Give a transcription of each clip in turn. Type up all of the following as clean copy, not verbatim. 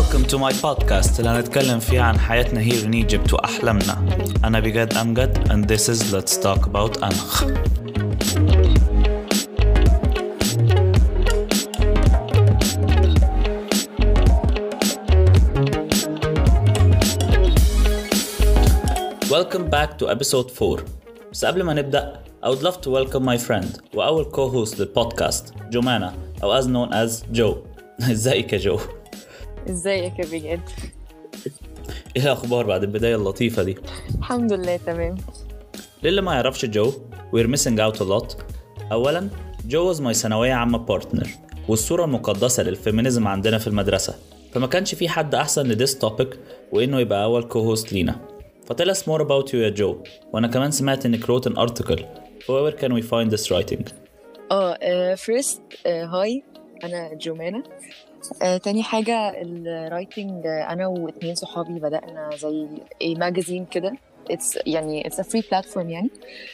Welcome to my podcast اللي هنتكلم فيه عن حياتنا here in Egypt وأحلامنا. أنا بجد أمجد and this is Let's Talk About أنخ. Welcome back to episode 4. بس قبل ما نبدأ I would love to welcome my friend وأول co-host للبودكاست جمانة أو as known as جو. ازيك يا جو؟ ازيك يا بجد؟ ايه الأخبار بعد البداية اللطيفة دي؟ الحمد لله تمام. للي ما يعرفش جو we're missing out a lot. أولا جو was my ثانوية عامة partner والصورة المقدسة للفيمينيزم عندنا في المدرسة، فما كانش في حد أحسن لديس topic وإنه يبقى أول co-host لينا. فتell us more about you يا جو. وأنا كمان سمعت إنك wrote an article. Where can we find this writing? first هاي أنا جمانة. تاني حاجة الرايتنج أنا واتنين صحابي بدأنا زي ماجازين كده. it's a free platform يعني.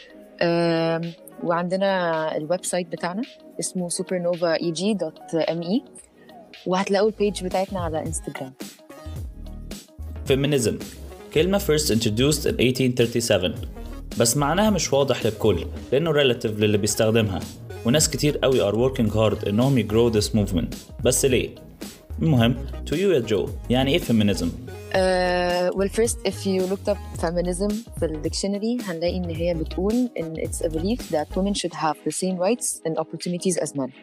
وعندنا الويب سايت بتاعنا اسمه supernovaeg.me وهتلاقوا البيج بتاعتنا على انستغرام. Feminism كلمة first introduced in 1837 بس معناها مش واضح للكل لأنه relative للي بيستخدمها، وناس كتير قوي are working hard إنهم يgrow this movement. بس ليه؟ المهم to you يا جو يعني إيه feminism؟ well first if you looked up feminism في الديكشنري هنلاقي إن هي بتقول إن it's a belief that women should have the same rights and opportunities as men.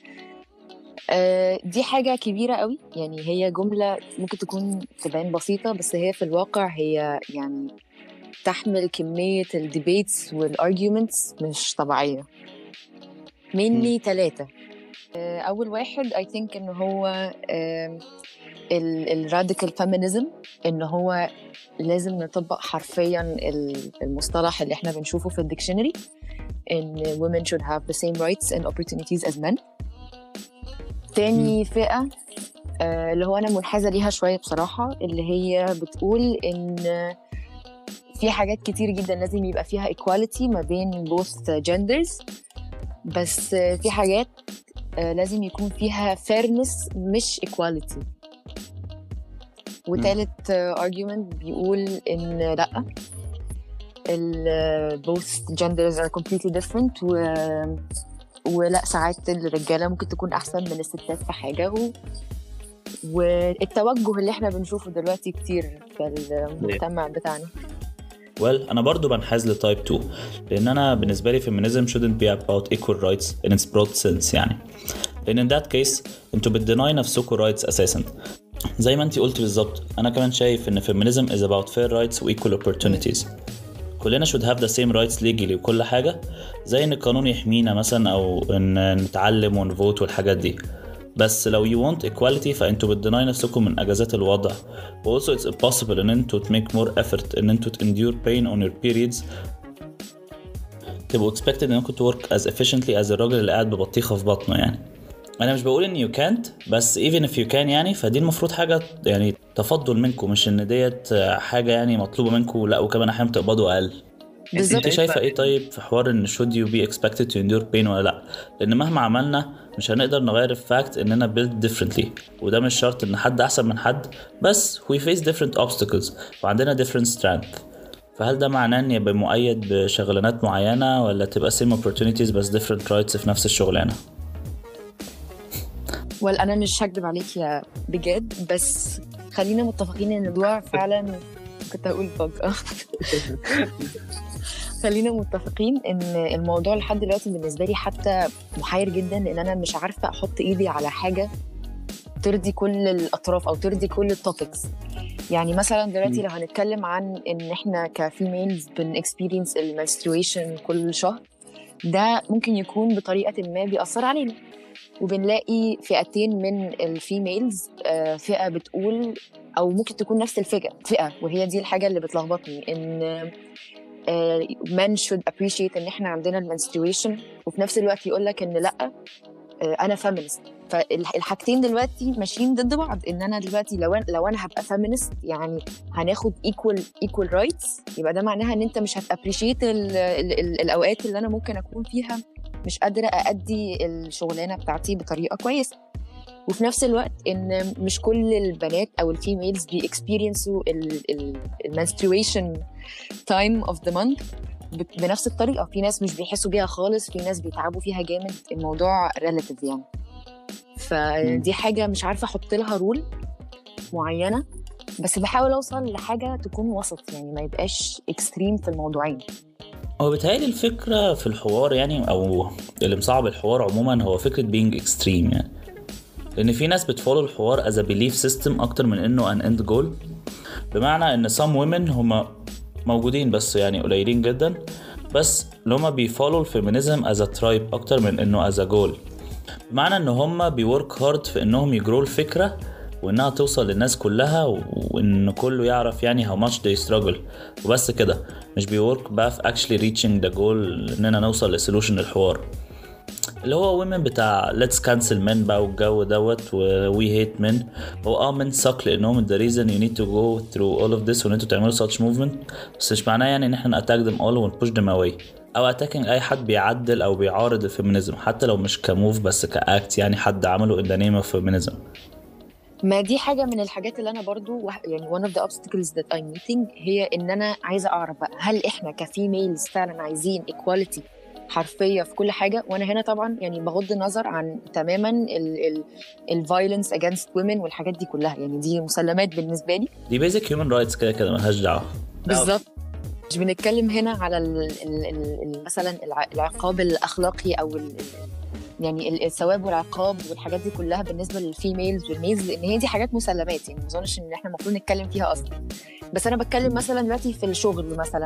دي حاجة كبيرة قوي يعني، هي جملة ممكن تكون تبان بسيطة بس هي في الواقع هي يعني تحمل كمية الديبيتس والارجيومنتس مش طبيعية. مني 3. أول واحد I think إنه هو الراديكال فيمينيزم، إنه هو لازم نطبق حرفيا المصطلح اللي احنا بنشوفه في الديكشنري إن women should have the same rights and opportunities as men. تاني فئة اللي هو أنا منحازة ليها شوية بصراحة، اللي هي بتقول إن في حاجات كتير جدا لازم يبقى فيها equality ما بين both genders، بس في حاجات لازم يكون فيها fairness مش equality. وثالث argument بيقول إن لأ both genders are completely different ولا ساعات الرجالة ممكن تكون أحسن من الستات في حاجة والتوجه اللي احنا بنشوفه دلوقتي كتير في المجتمع بتاعنا. أنا برضو بنحاز لتايب 2 لأن أنا بالنسبة لي feminism shouldn't be about equal rights in its broad sense يعني، لأن in that case انتوا بتديناي نفسكوا rights أساسا. زي ما انتي قلت بالظبط، أنا كمان شايف إن feminism is about fair rights و equal opportunities. كلنا should have the same rights legally وكل حاجة، زي إن القانون يحمينا مثلا أو إن نتعلم ونفوت والحاجات دي. بس لو you want equality فأنتوا بتديناي نفسكم من أجازات الوضع. also it's impossible إن أنتوا make more effort إن أنتوا endure pain on your periods، تبقوا expected إن أنتوا to work as efficiently as الراجل اللي قاعد ببطيخة في بطنه يعني. أنا مش بقول إن you can't، بس even if you can يعني فدي المفروض حاجة يعني تفضل منكم، مش إن ديت حاجة يعني مطلوبة منكم، لأ وكمان أحيانا تقبضوا أقل. انت شايفة ايه طيب في حوار ان should you be expected to endure pain ولا لا؟ لان مهما عملنا مش هنقدر نغير الفاكت اننا built differently، وده مش شرط ان حد احسن من حد، بس we face different obstacles وعندنا different strength. فهل ده معناه ان يبقى مؤيد بشغلانات معينة ولا تبقى same opportunities بس different rights في نفس الشغلانة؟ انا مش هكدب عليك يا بجد، بس خلينا متفقين ان الموضوع فعلا كنت هقول فجأة خلينا متفقين ان الموضوع لحد دلوقتي بالنسبه لي حتى محير جدا، لان انا مش عارفه احط ايدي على حاجه ترضي كل الاطراف او ترضي كل التوبكس. يعني مثلا دلوقتي لو هنتكلم عن ان احنا كفيميلز بنكسبيرينس المنسترويشن كل شهر، ده ممكن يكون بطريقه ما بيأثر علينا، وبنلاقي فئتين من الفيميلز، فئه بتقول او ممكن تكون نفس الفئه، وهي دي الحاجه اللي بتلخبطني، ان men should appreciate ان احنا عندنا المنسترويشن، وفي نفس الوقت يقولك ان لا انا feminist. فالحاجتين دلوقتي ماشيين ضد بعض، ان انا دلوقتي لو انا هبقى feminist يعني هناخد equal rights، يبقى ده معناها ان انت مش هتappreciate الاوقات اللي انا ممكن اكون فيها مش قادرة أأدي الشغلانة بتاعتي بطريقة كويسة. وفي نفس الوقت ان مش كل البنات او الفيميلز بيكسبيرينسوا المنسترويشن تايم اوف ذا مانث بنفس الطريقه. في ناس مش بيحسوا بيها خالص، في ناس بيتعبوا فيها جامد. الموضوع ريلاتيف يعني. فدي حاجه مش عارفه احط لها رول معينه، بس بحاول اوصل لحاجه تكون وسط، يعني ما يبقاش اكستريم في الموضوعين. هو بيتهيألي الفكرة في الحوار يعني، أو اللي مصعب الحوار عموما، هو فكرة being extreme يعني. لأن في ناس بتفولو الحوار as a belief system أكتر من إنه an end goal. بمعنى إن some women هما موجودين بس يعني قليلين جدا، بس اللي هما بيفولو الفيمينيزم as a tribe أكتر من إنه as a goal. بمعنى إن هما بيورك هارد في إنهم يجروا الفكرة وإنها توصل للناس كلها، وإن كله يعرف يعني how much they struggle، وبس كده. مش بيورك بقى في actually reaching the goal إننا نوصل لسولوشن للحوار، اللي هو women بتاع let's cancel men بقى والجو دوت و we hate men. هو men suck لأنهم the reason you need to go through all of this وإن انتوا تعملوا such movement، بس مش معناه يعني إن احنا attack them all و push them away، أو attacking أي حد بيعدل أو بيعارض الفيمينيزم، حتى لو مش كموف بس كأكت يعني حد عمله in the name of feminism. ما دي حاجة من الحاجات اللي أنا برضو يعني one of the obstacles that I'm meeting، هي إن أنا عايزة أعرف بقى هل إحنا كفيميلز فعلا عايزين equality حرفية في كل حاجة. وأنا هنا طبعا يعني بغض النظر عن تماما ال violence against women والحاجات دي كلها، يعني دي مسلمات بالنسبة لي، دي basic human rights كده ملهاش دعوة. بالظبط. مش بنتكلم هنا على مثلا العقاب الأخلاقي أو يعني الثواب والعقاب والحاجات دي كلها بالنسبه للفيميلز والميلز، لان هي دي حاجات مسلمات، يعني ما اظنش ان احنا المفروض نتكلم فيها اصلا. بس انا بتكلم مثلا دلوقتي في الشغل، مثلا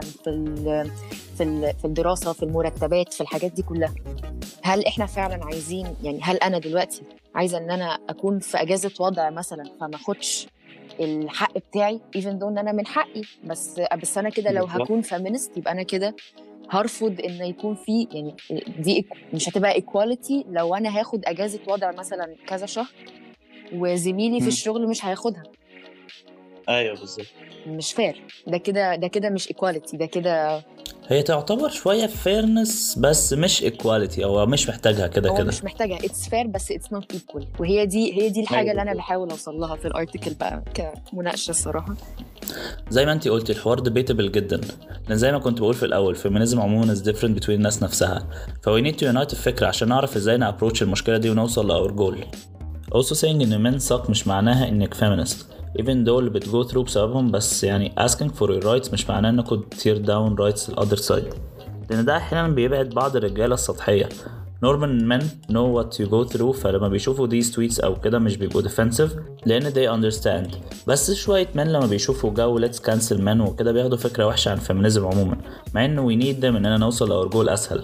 في الدراسه، في المرتبات، في الحاجات دي كلها. هل احنا فعلا عايزين، يعني هل انا دلوقتي عايزه ان انا اكون في اجازه وضع مثلا فما اخدش الحق بتاعي even though ان انا من حقي، بس انا كده لو هكون فيمينست يبقى انا كده هرفض ان يكون في، يعني دي مش هتبقى ايكواليتي لو انا هاخد اجازه وضع مثلا كذا شهر وزميلي في الشغل مش هياخدها. ايوه بالظبط، مش فير. ده كده مش ايكواليتي، ده كده هي تعتبر شويه فيرنس بس مش ايكواليتي، او مش محتاجها كده كده. مش محتاجها، اتس فير بس اتس نوت ايكوال. وهي دي الحاجه اللي انا بحاول اوصل لها في الارتكل بقى كمناقشه الصراحه. زي ما انتي قلتي الحوار debatable جدا، لان زي ما كنت بقول في الاول feminism عموما is different between الناس نفسها. we need to unite الفكره عشان نعرف ازاي نابروتش المشكله دي ونوصل لاور جول. also saying ان men suck مش معناها انك feminist even though اللي بتجو through بسببهم، بس يعني asking for your rights مش معناه انكم tear down rights the other side، لان ده احيانا بيبعد بعض الرجاله السطحيه. normal men know what you go through، فلما بيشوفوا these tweets او كده مش بيبقوا defensive لان they understand. بس شويه men لما بيشوفوا جو let's cancel men وكده بياخدوا فكره وحشه عن feminism عموما، مع انه we need them اننا نوصل لاور جول اسهل.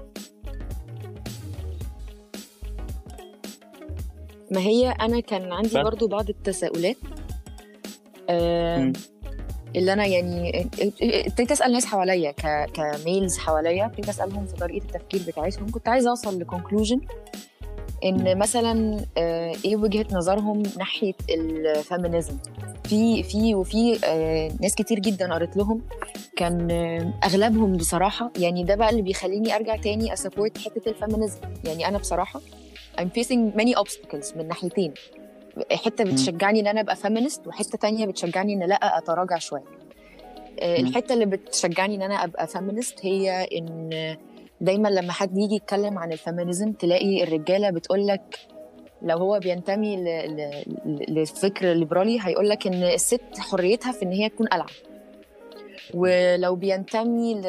ما هي انا كان عندي برضو بعض التساؤلات اللي انا يعني ابتديت اسال ناس حواليا كميلز حواليا، ابتديت اسالهم في طريقه التفكير بتاعتهم. كنت عايزه اوصل لكونكلوجن ان مثلا ايه وجهه نظرهم ناحيه الفيمينيزم. وفي ناس كتير جدا قريت لهم، كان اغلبهم بصراحه، يعني ده بقى اللي بيخليني ارجع تاني اسابورت حته الفيمينيزم. يعني انا بصراحه I'm facing many obstacles من ناحيتين، حته بتشجعني ان انا ابقى فيمينست، وحته تانية بتشجعني ان لا اتراجع شويه. الحته اللي بتشجعني ان انا ابقى فيمينست هي ان دايما لما حد يجي يتكلم عن الفيمينيزم تلاقي الرجاله بتقولك، لو هو بينتمي لفكر ليبرالي هيقولك ان الست حريتها في ان هي تكون قلعه، ولو بينتمي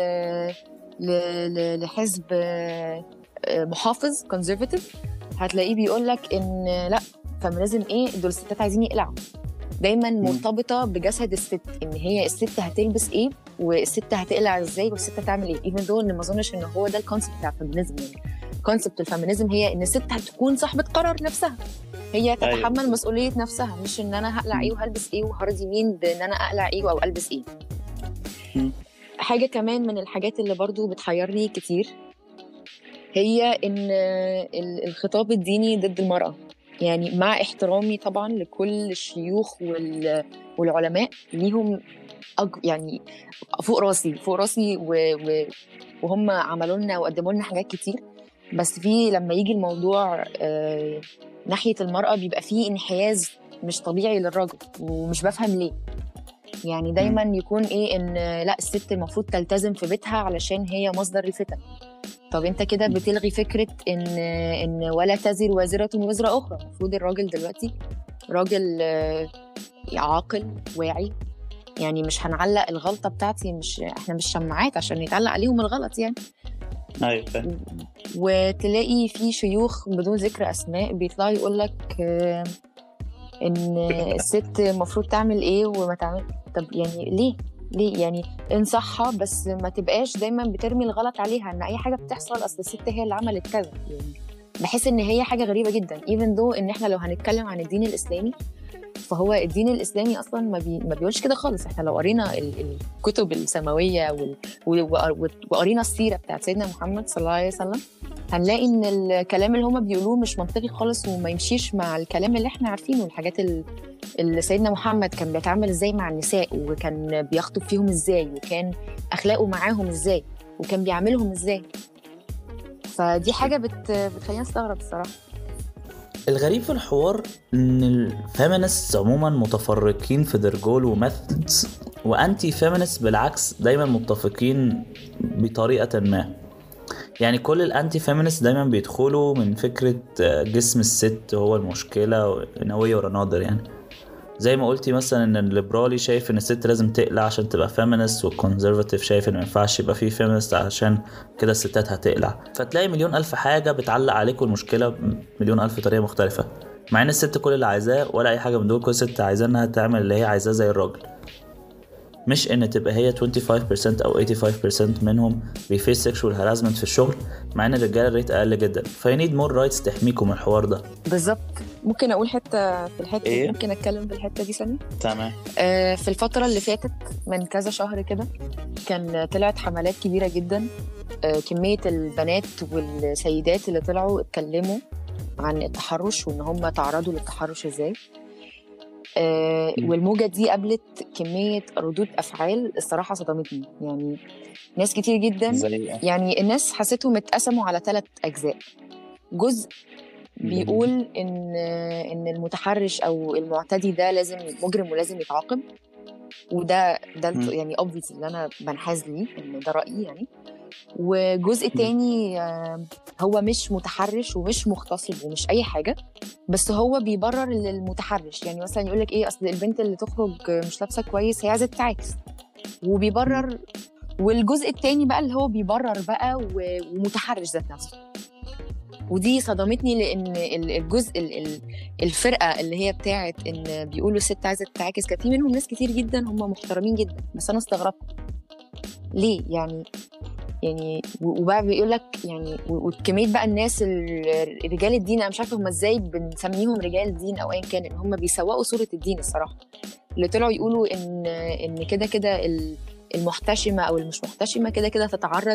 لحزب محافظ conservative هتلاقيه بيقولك ان لا، فيمينيزم ايه دول الستات عايزين يقلعوا. دايما مرتبطه بجسد الست، ان هي الست هتلبس ايه والست هتقلع ازاي والست هتعمل ايه. even though ان ما اظنش ان هو ده الكونسبت بتاع الفيمينيزم. يعني كونسبت الفيمينيزم هي ان الست هتكون صاحبه قرار نفسها، هي تتحمل مسؤوليه نفسها، مش ان انا هقلع ايه وهلبس ايه وهرضي مين بان انا اقلع ايه او البس ايه. حاجه كمان من الحاجات اللي برضو بتحيرني كتير هي ان الخطاب الديني ضد المرأة. يعني مع احترامي طبعا لكل الشيوخ والعلماء، ليهم يعني فوق راسي وهم عملوا لنا وقدموا لنا حاجات كتير، بس في لما يجي الموضوع ناحية المرأة بيبقى فيه انحياز مش طبيعي للراجل، ومش بفهم ليه. يعني دايما يكون ايه ان لا الست المفروض تلتزم في بيتها علشان هي مصدر الفتن. طب انت كده بتلغي فكرة ان ولا تزر وازرة وزر اخرى. المفروض الراجل دلوقتي راجل عاقل واعي، يعني مش هنعلق الغلطة بتاعتي، احنا مش شماعات عشان يتعلق عليهم الغلط يعني. ايوه فاهم. وتلاقي في شيوخ بدون ذكر اسماء بيطلعوا يقول لك ان الست المفروض تعمل ايه وما تعمل. طب يعني ليه يعني انصحها، بس ما تبقاش دايما بترمي الغلط عليها ان اي حاجه بتحصل اصل الست هي اللي عملت كذا. يعني بحس ان هي حاجه غريبه جدا. even though ان احنا لو هنتكلم عن الدين الاسلامي فهو الدين الاسلامي اصلا ما بيقولش كده خالص. احنا لو قرينا الكتب السماويه وقرينا السيره بتاعت سيدنا محمد صلى الله عليه وسلم هنلاقي ان الكلام اللي هما بيقولوه مش منطقي خالص وما يمشيش مع الكلام اللي احنا عارفينه. الحاجات اللي سيدنا محمد كان بيتعامل ازاي مع النساء، وكان بيخطب فيهم ازاي، وكان اخلاقه معاهم ازاي، وكان بيعاملهم ازاي. فدي حاجه بتخلينا نستغرب الصراحه. الغريب في الحوار ان الفيمينست عموما متفرقين في their goal وميثودز، وانتي فيمينست بالعكس دايما متفقين بطريقه ما. يعني كل الانتي فيمينست دايما بيدخلوا من فكره جسم الست هو المشكله in a way or another. يعني زي ما قلتي مثلا ان الليبرالي شايف ان الست لازم تقلع عشان تبقى فيمينست، والكونزرفاتيف شايف ان ما ينفعش يبقى فيه فيمينست عشان كده الستات هتقلع. فتلاقي مليون الف حاجه بتعلق عليكم المشكله مليون الف طريقه مختلفه، مع ان الست كل اللي عايزاه ولا اي حاجه من دول. كل ست عايزاه انها تعمل اللي هي عايزاه زي الراجل، مش ان تبقى هي 25% او 85% منهم بيفيس سيكشوال هاراسمنت في الشغل، مع ان الرجاله الريت اقل جدا. فاي نيد مور رايتس تحميكم من الحوار ده. بالظبط. ممكن اقول حته في الحته إيه؟ ممكن اتكلم في الحته دي ثانيه. تمام. في الفتره اللي فاتت من كذا شهر كده كان طلعت حملات كبيره جدا. كميه البنات والسيدات اللي طلعوا اتكلموا عن التحرش وان هم تعرضوا للتحرش ازاي. والموجة دي قابلت كمية ردود أفعال الصراحة صدمتني. يعني ناس كتير جدا يعني الناس حسيتهم اتقسموا على 3 أجزاء. جزء بيقول إن المتحرش أو المعتدي ده لازم مجرم ولازم يتعاقب، وده يعني obviously اللي أنا بنحاز ليه إن ده رأيي يعني. وجزء تاني هو مش متحرش ومش مغتصب ومش أي حاجة، بس هو بيبرر للمتحرش. يعني مثلا يقولك إيه، أصل البنت اللي تخرج مش لابسة كويس هي عايزة تتعاكس وبيبرر. والجزء التاني بقى اللي هو بيبرر بقى ومتحرش ذات نفسه. ودي صدمتني لأن الجزء الفرقة اللي هي بتاعت إن بيقولوا الست عايزة تتعاكس كان في منهم ناس كتير جدا هم محترمين جدا، بس أنا استغربت ليه يعني وبقى بيقول لك يعني وكميه بقى الناس رجال الدين. انا مش عارفه هم ازاي بنسميهم رجال الدين او ايا كان، ان هم بيسوقوا صوره الدين الصراحه. اللي طلعوا يقولوا ان كده المحتشمه او المش محتشمه كده تتعرض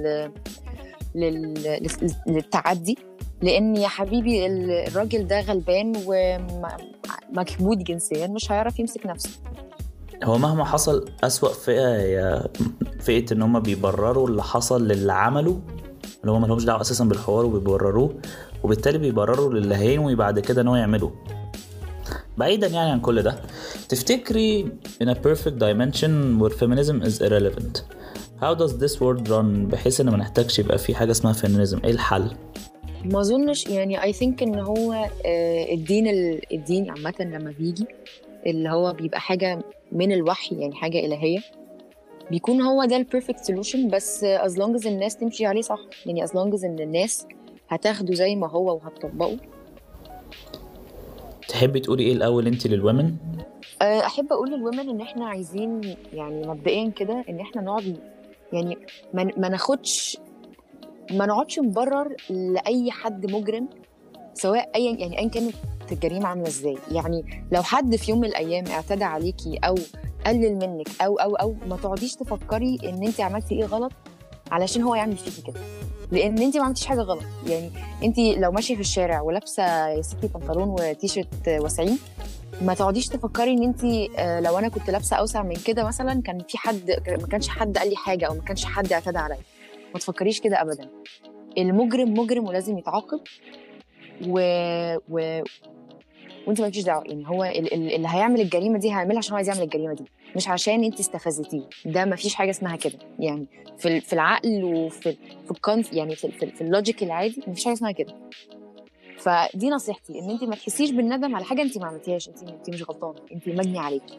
للتعدي، لان يا حبيبي الراجل ده غلبان ومكبوت جنسيا مش هيعرف يمسك نفسه. هو مهما حصل أسوأ فئة هي فئة ان هم بيبرروا اللي حصل للي عملوا، اللي هم ملهمش دعوة اساسا بالحوار وبيبرروه، وبالتالي بيبرروا للي هينوي بعد كده ان هو يعمله. بعيدا يعني عن كل ده، تفتكري in a perfect dimension where feminism is irrelevant how does this world run بحيث ان ما نحتاجش يبقى في حاجة اسمها feminism؟ ايه الحل؟ ما اظنش يعني I think ان هو الدين عامة لما بيجي اللي هو بيبقى حاجة من الوحي، يعني حاجة إلهية، بيكون هو ده البيرفكت سولوشن. بس as long as الناس تمشي عليه صح، يعني as long as ان الناس هتاخده زي ما هو وهتطبقه. تحبي تقولي ايه الأول انت للومن؟ أحب أقول للومن إن إحنا عايزين يعني مبدئيا كده إن إحنا نقعد يعني ما نقعدش نبرر لأي حد مجرم، سواء أيا كانت الجريمة عاملة إزاي. يعني لو حد في يوم من الأيام اعتدى عليكي أو قلل منك أو ما تقعديش تفكري إن أنت عملتي إيه غلط علشان هو يعمل فيكي كده، لأن أنت ما عملتيش حاجة غلط. يعني أنت لو ماشية في الشارع ولابسة يا ستي بنطلون وتيشيرت واسعين، ما تقعديش تفكري إن أنت لو أنا كنت لابسة أوسع من كده مثلا ما كانش حد قال لي حاجة أو ما كانش حد اعتدى عليا. ما تفكريش كده أبدا. المجرم مجرم ولازم يتعاقب وانت مالكيش دعوه. يعني هو اللي هيعمل الجريمه دي هيعملها عشان هو عايز يعمل الجريمه دي، مش عشان انت استفزتيه. ده مفيش حاجه اسمها كده يعني في العقل وفي يعني في اللوجيك العادي مفيش حاجه اسمها كده. فدي نصيحتي، ان انت ما تحسيش بالندم على حاجه انت ما عملتيهاش. انت مش غلطانه، انت مجني عليكي.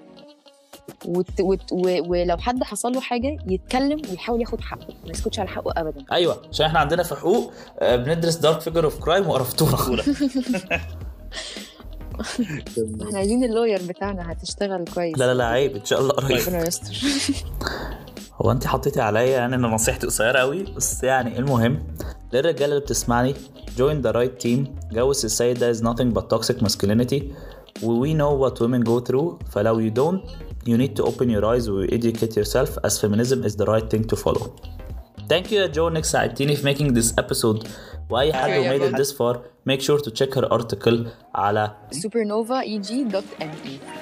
ولو حد حصل له حاجه يتكلم ويحاول ياخد حقه، ما يسكتش على حقه ابدا. ايوه، عشان احنا عندنا في حقوق بندرس دارك فيجر اوف كرايم وقرفتونا. احنا عايزين اللوير بتاعنا هتشتغل كويس. لا عيب، ان شاء الله قريب. ربنا يستر. هو انت حطيتي عليا يعني ان نصيحتي قصيره قوي، بس يعني المهم للرجاله اللي بتسمعني join the right team. جو السيدة is nothing but toxic masculinity. We know what women go through. فلو you don't, you need to open your eyes and educate yourself, as feminism is the right thing to follow. Thank you يا جو انك ساعدتيني في making this episode. واي حد who made it this far, make sure to check her article على supernova.eg.me.